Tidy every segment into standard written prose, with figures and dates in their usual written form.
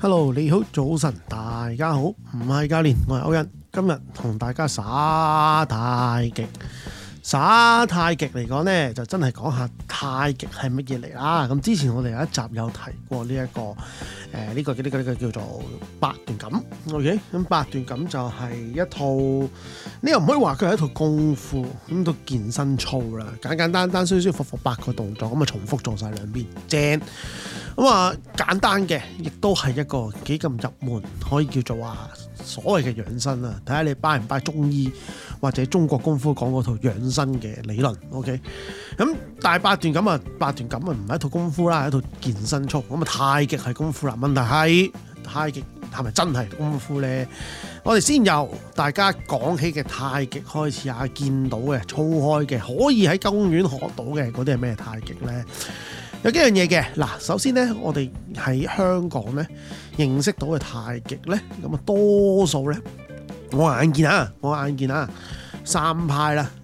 Hello， 你好，早晨，大家好，唔係教練，我係歐恩，今日同大家耍太極。耍太極嚟講呢，就真係講下太極係乜嘢嚟啦。咁之前我哋有一集有提過呢一個呢個叫做八段錦。OK， 咁八段錦就係一套，你又唔可以話佢係一套功夫，咁到健身操啦，簡簡單單、舒舒服服8個動作，咁啊重複做晒兩邊，正。咁啊簡單嘅，亦都係一個幾咁入門，可以叫做話所謂嘅養生啊。睇下你拜唔拜中醫或者中國功夫講嗰套養生嘅理論。OK， 咁但係八段錦啊唔係一套功夫啦，係一套健身操。咁啊太極係功夫啦，問題係太極係咪真係功夫呢？我哋先由大家講起嘅太極開始啊，見到嘅操開嘅可以喺公園學到嘅嗰啲係咩太極呢？有幾樣嘢嘅。嗱，首先咧，我哋喺香港咧認識到嘅太極咧，咁啊多數咧，我眼見啊，三派啦，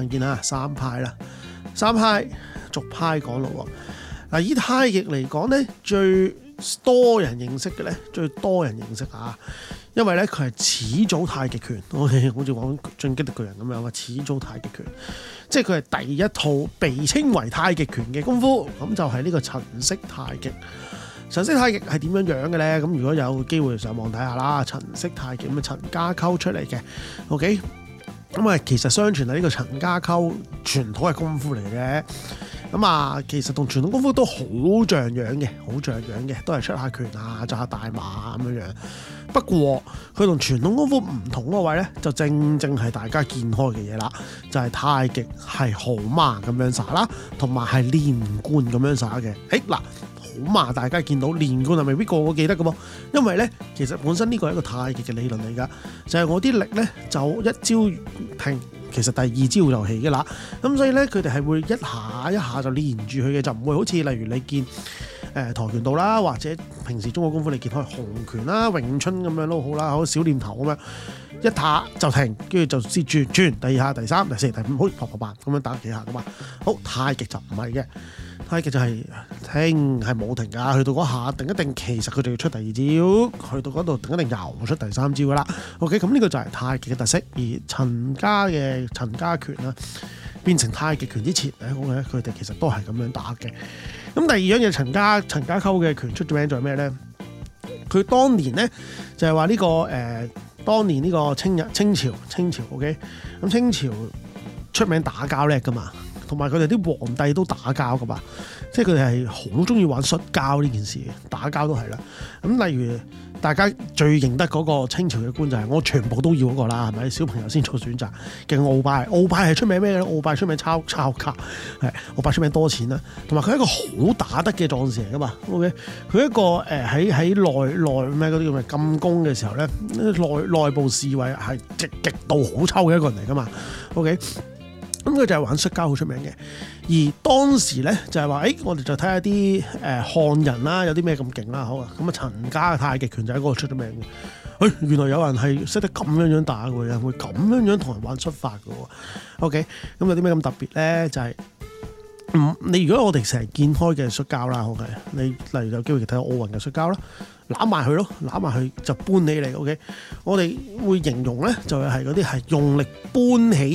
三派逐派講咯喎。嗱，以太極嚟講咧，最多人認識嘅咧，因為咧佢係始祖太極拳，好似講進擊的巨人咁樣啊，始祖太極拳，即係佢係第一套被稱為太極拳嘅功夫，咁就係呢個陳式太極。陳式太極係點樣樣嘅咧？咁如果有機會上網睇下啦，陳式太極咁啊陳家溝出嚟嘅 ，OK， 咁啊其實相傳係呢個陳家溝傳統嘅功夫嚟嘅。咁啊，其實同傳統功夫都好像樣嘅，都係出下拳啊，紮下大馬咁樣樣。不過佢同傳統功夫唔同嗰位咧，就正係大家見開嘅嘢啦，就係太極係號碼咁樣耍啦，同埋係連貫咁樣耍嘅。嗱，號碼大家見到，連貫係未必個個記得嘅噃，因為咧其實本身呢個係一個太極嘅理論嚟㗎，就係我啲力咧就一招停。其實第二招就起嘅啦，咁所以咧佢哋係會一下就連住佢嘅，就唔會好似例如你見跆拳道啦，或者平時中國功夫你見開洪拳啦、詠春咁樣都好啦，好小念頭咁樣一下就停，跟住就先轉第二下、第三、第四、第五，好啪啪啪咁樣打幾下噶嘛。好，太極就唔係嘅，太極就係停係冇停㗎，去到嗰下定一定，其實佢就要出第二招，去到嗰度定一定又出第三招㗎啦。OK， 咁呢個就係太極嘅特色。而陳家拳啦，變成太極拳之前咧，佢哋其實都係咁樣打嘅。咁第二樣嘢，陳家溝嘅拳出咗名在咩咧？佢當年咧就係話呢個當年呢個清朝 OK， 咁清朝出名打交叻噶嘛，同埋佢哋啲皇帝都打交噶嘛，即係佢哋係好中意玩摔跤呢件事，打交都係啦。咁例如大家最認得嗰個清朝嘅官就係我全部都要嗰個啦，係咪？小朋友先做選擇嘅鰲拜，鰲拜係出名咩咧？鰲拜出名抄卡，係鰲拜出名多錢啦，同埋佢係一個好打得嘅壯士嚟噶嘛。OK， 佢一個喺內咩嗰啲叫咩禁宮嘅時候咧，內部侍衛係極度好抽嘅一個人嚟噶嘛。OK。咁佢就係玩摔跤好出名嘅，而當時咧就係話，我哋就睇下啲漢人啦，有啲咩咁勁啦，好啊，咁啊陳家嘅太極拳就喺嗰度出咗名嘅。原來有人係識得咁樣打嘅，有人會咁樣同人玩摔法嘅喎。OK， 咁有啲咩咁特別咧？就係你如果我哋成日見開嘅摔跤啦，OK， 你例如有機會睇下奧運嘅摔跤啦，攬埋佢就搬起嚟。OK， 我哋會形容咧就係嗰啲係用力搬起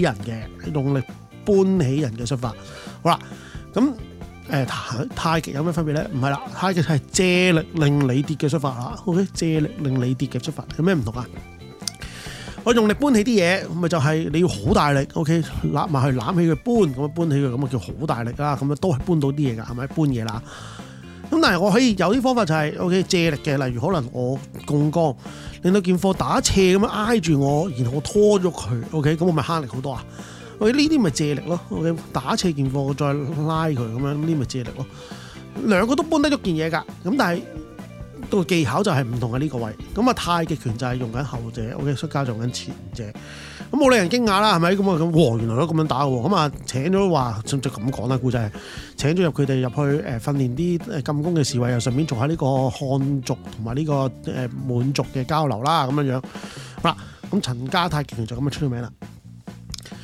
人嘅摔法。好啦，咁太極有咩分別咧？唔係啦，太極係借力令你跌嘅摔法啦。OK， 借力令你跌嘅摔法有咩唔同啊？我用力搬起啲嘢，咪就係你要好大力 ，OK， 攬埋去攬起佢搬，咁樣搬起佢，咁啊叫好大力啦，咁樣都係搬到啲嘢㗎，係咪搬嘢啦？咁但係我可以有啲方法就係 OK 借力嘅，例如可能我槓桿令到件貨打斜咁樣挨住我，然後我拖咗佢 ，OK， 咁我咪慳力好多啊！喂，呢啲咪借力咯 ，OK， 打斜件貨我再拉佢咁樣，呢啲咪借力咯。兩個都搬得喐件嘢㗎，咁但係個技巧就係唔同嘅呢個位。咁啊太極拳就係用緊後者 ，OK， 摔跤就用緊前者。咁冇令人驚訝啦，係咪？咁啊咁，原來都咁樣打嘅喎。咁啊請咗話，就咁講啦，故仔請咗佢哋入去訓練啲禁宮嘅侍衛，又順便做下呢個漢族同埋呢個滿族嘅交流啦，咁樣樣。好啦，咁陳家太極拳就咁樣出咗名啦。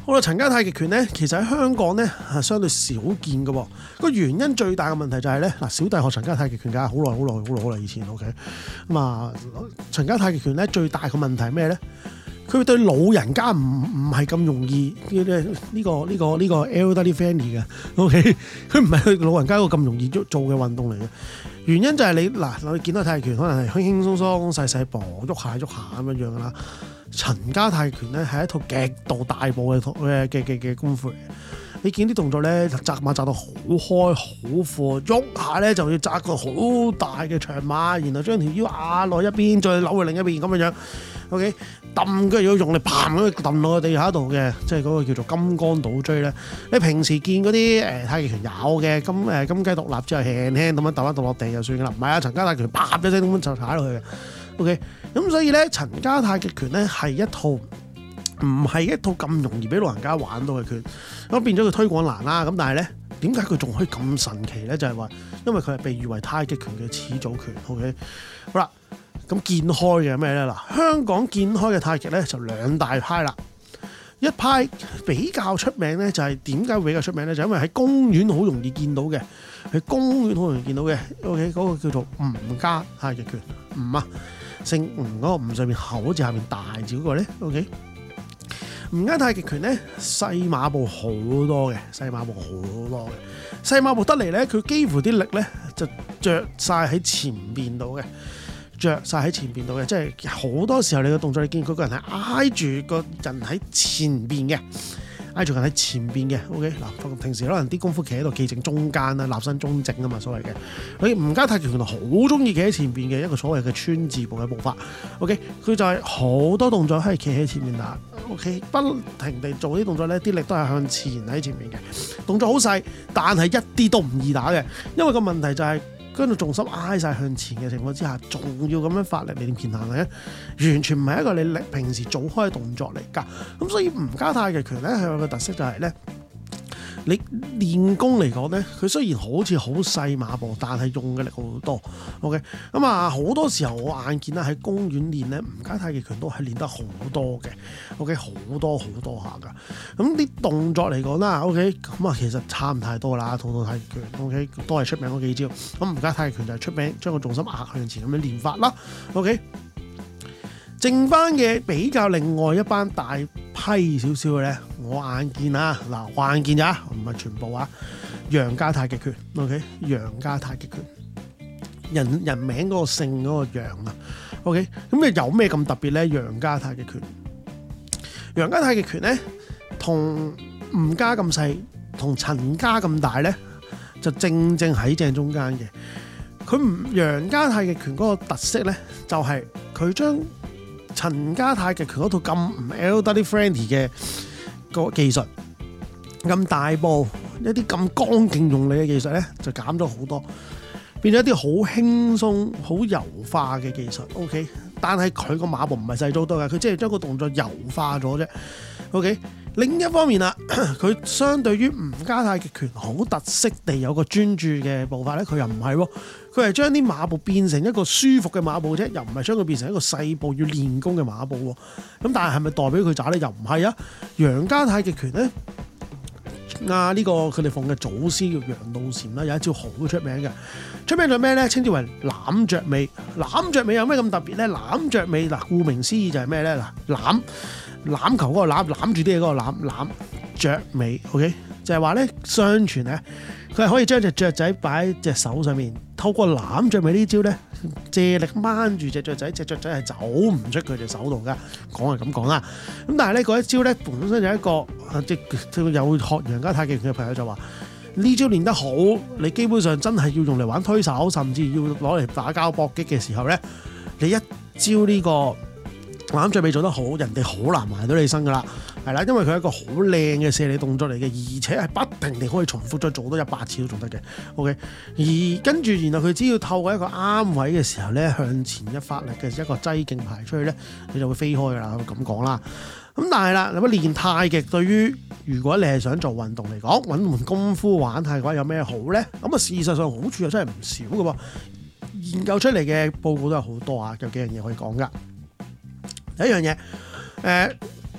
好啦，陳家太極拳咧，其實喺香港咧係相對少見嘅喎。個原因最大嘅問題就係咧，嗱，小弟學陳家太極拳㗎，好耐以前 OK。咁啊，陳家太極拳咧最大嘅問題係咩咧？佢對老人家唔係咁容易呢個 elderly friendly 嘅 OK。佢唔係對老人家一個咁容易做嘅運動嚟嘅。原因就係你見到太極拳可能係輕輕鬆鬆細步喐下咁樣樣啦。陳家太極拳咧係一套極度大步嘅功夫嚟。你見啲動作咧，紮馬紮到好開好闊，喐下咧就要紮個好大嘅長馬，然後將條腰壓落一邊，再扭去另一邊咁樣樣。OK， 揼嘅要用力嘭咁揼落個地下度嘅，即係嗰個叫做金剛倒追咧。你平時見嗰啲太極拳有嘅金雞獨立之後輕輕咁樣揼一揼落地就算噶啦，唔係啊，陳家太極拳啪一聲咁就踩落去嘅。OK， 咁所以咧陳家太極拳咧係一套唔係一套咁容易俾老人家玩到嘅拳，咁變咗佢推廣難啦。咁但係咧，點解佢仲可以咁神奇咧？就係話，因為佢係被譽為太極拳嘅始祖拳。OK， 好啦，咁見開嘅咩咧？嗱，香港見開嘅太極咧就兩大派啦。一派比較出名咧，就係點解會比較出名咧？就因為喺公園好容易見到嘅，喺公園好容易見到嘅。OK， 嗰個叫做吳家太極拳，吳啊，姓吳嗰個吳上面口字下面大字嗰個咧。OK。吳家太極拳咧細馬步好多嘅，細馬步得嚟咧，佢幾乎啲力咧就着晒喺前邊度嘅，即係好多時候你嘅動作，你見佢個人係挨住個人喺前邊嘅。OK， 嗱，平時可能啲功夫企喺度企正中間啦，立身中正啊嘛，所謂嘅。佢吳家太極拳好中意企喺前邊嘅一個所謂嘅川字步嘅步法。OK， 佢就係好多動作係企喺前面打。OK， 不停地做啲動作咧，啲力都係向前喺前面嘅。動作好細，但係一啲都唔易打嘅，因為個問題就係跟住重心挨晒向前嘅情況之下，仲要咁樣發力嚟練彈咧，完全唔係一個你平時做開嘅動作嚟㗎。咁所以吳家太極拳咧係有個特色就係咧，你練功嚟講咧，佢雖然好似好細馬步，但係用嘅力好多。OK， 咁啊好多時候我眼見啦喺公園練咧，吳家太極拳都係練得好多嘅。OK， 好多下㗎。咁啲動作嚟講啦 ，OK， 咁啊其實差唔太多啦，套太極拳 OK 都係出名嗰幾招。咁吳家太極拳就係出名將個重心壓向前咁樣練法啦。OK， 剩翻嘅比較另外一班大批少少嘅咧，我眼見啊，嗱，我眼見咋，唔係全部啊。楊家太極拳 ，OK， 楊家太極拳，人名嗰個姓嗰個楊啊 ，OK， 咁有咩咁特別咧？楊家太極拳咧，同吳家咁細，同陳家咁大咧，就正喺正中間嘅。楊家太極拳嗰個特色咧，就係佢將陳家太極拳嗰套咁唔 elderly friendly 嘅個技術，咁大步一啲咁剛勁用力嘅技術咧，就減咗好多，變咗一啲好輕鬆、好柔化嘅技術。OK， 但係佢個馬步唔係細咗好多嘅，佢即係將個動作柔化咗啫。OK， 另一方面啦，佢相對於吳家太極拳好特色地有個專注嘅步伐咧，佢又唔係喎，佢係將啲馬步變成一個舒服嘅馬步啫，又唔係將佢變成一個細步要練功嘅馬步喎。咁但係咪代表佢渣咧？又唔係啊。楊家太極拳咧，呢個佢哋奉嘅祖師叫楊露禪啦，有一招好出名嘅，出名咗咩咧？稱之為攬雀尾。攬雀尾有咩咁特別咧？攬雀尾嗱，顧名思義就係咩咧？嗱，欖球嗰個攬住啲嘢嗰個攬雀尾 ，OK， 就係話咧，相傳咧，佢係可以將隻雀仔擺喺隻手上面，透過攬雀尾呢招咧，借力掹住隻雀仔，隻雀仔係走唔出佢隻手度噶。講係咁講啦，咁但係咧嗰一招咧本身有一個即有學楊家太極拳嘅朋友就話呢招練得好，你基本上真係要用嚟玩推手，甚至要攞嚟打交搏擊嘅時候咧，你一招呢個攬雀尾做得好，人哋好難埋到你身噶啦，係啦，因為佢係一個好靚嘅射理動作嚟嘅，而且係不停地可以重複再做多100次都仲得嘅。OK， 而跟住然後佢只要透過一個啱位嘅時候咧，向前一發力嘅一個擠勁排出去咧，你就會飛開噶啦，咁講啦。咁但係啦，咁練太極對於如果你係想做運動嚟講，揾門功夫玩太極有咩好咧？咁啊事實上好處又真係唔少噶噃，研究出嚟嘅報告都有好多啊，有幾樣嘢可以講噶。第一樣嘢，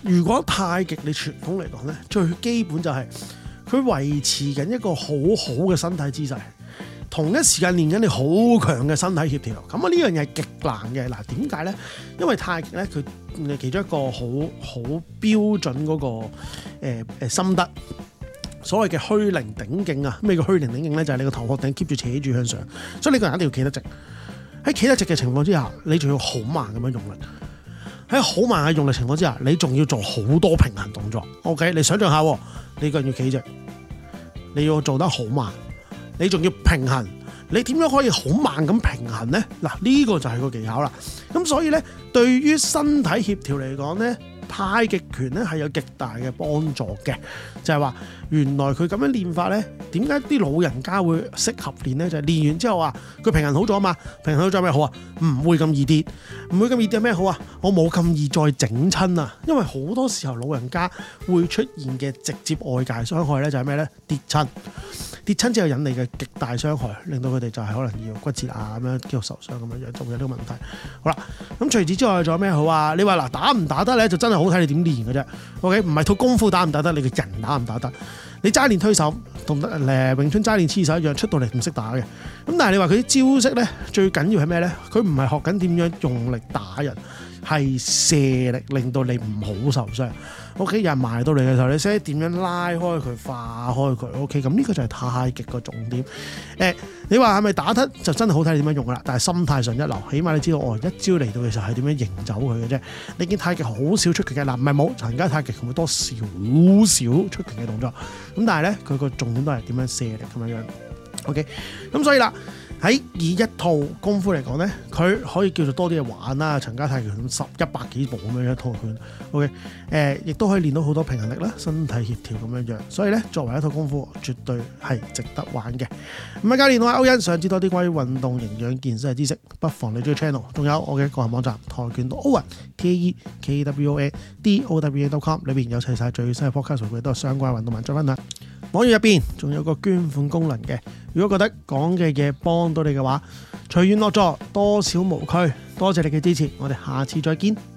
如果太極你傳統嚟講咧，最基本就係佢維持緊一個好好嘅身體姿勢，同一時間練緊你好強嘅身體協調。咁啊呢樣嘢係極難嘅。嗱，點解咧？因為太極咧佢其中一個好標準嗰個心得，所謂嘅虛靈頂勁啊。咩叫虛靈頂勁咧？就係你個頭殼頂 keep 住扯住向上，所以你個人一定要企得直。喺企得直嘅情況之下，你仲要好慢咁樣用力。喺好慢嘅用力情況之下，你仲要做好多平衡動作。OK， 你想象下，你個人要企直，你要做得好慢，你仲要平衡。你點樣可以好慢咁平衡呢？嗱，呢個就係個技巧啦。咁所以呢，對於身體協調嚟講呢，太極拳咧係有極大嘅幫助嘅。就係話原來佢咁樣練法呢，點解啲老人家會適合練呢？就係練完之後啊，佢平衡好咗嘛，平衡好咗咩好啊？唔會咁易跌，唔會咁易跌咩好啊？我冇咁易再整親啊！因為好多時候老人家會出現嘅直接外界傷害呢，就係咩呢？跌親之後引嚟嘅極大傷害，令到佢哋就係可能要骨折啊咁樣，肌肉受傷咁樣，就會有呢個問題。好啦，咁除此之外仲有咩好啊？你話嗱，打唔打得咧，就真係好睇你點練嘅啫。OK， 唔係套功夫打唔打得，你個人打唔打得。你齋練推手同詠春齋練黐手一樣，出到嚟唔識打嘅。咁但係你話佢啲招式咧，最緊要係咩咧？佢唔係學緊點樣用力打人，係射力令到你唔好受傷。OK， 有人埋到嚟嘅時候，你識點樣拉開佢、化開佢。OK， 咁呢個就係太極個重點。你話係咪打得就真係好睇你點樣用噶啦？但係心態上一流，起碼你知道一招嚟到嘅時候係點樣迎走佢嘅啫。你見太極好少出拳嘅，嗱唔係冇，陳家太極會多少少出拳嘅動作。咁但係咧，佢個重點都係點樣射力咁樣樣。OK， 咁所以啦。喺以一套功夫嚟講咧，佢可以叫做多啲嘢玩啦。陳家太極拳100幾步咁樣一套拳 ，OK， 亦都可以練到好多平衡力啦、身體協調咁樣樣。所以咧，作為一套功夫，絕對係值得玩嘅。咁啊，教練我係歐恩，想知多啲關於運動營養健身嘅知識，不妨你追 channel， 仲有我嘅個人網站跆拳道歐恩 TAEKWONDOWEN.com 裏邊有齊晒最新嘅 podcast 數據，都係相關運動文章分享。網頁入邊仲有個捐款功能嘅，如果覺得講嘅嘢幫到你嘅話，隨緣樂助，多少無拘。多謝你嘅支持，我哋下次再見。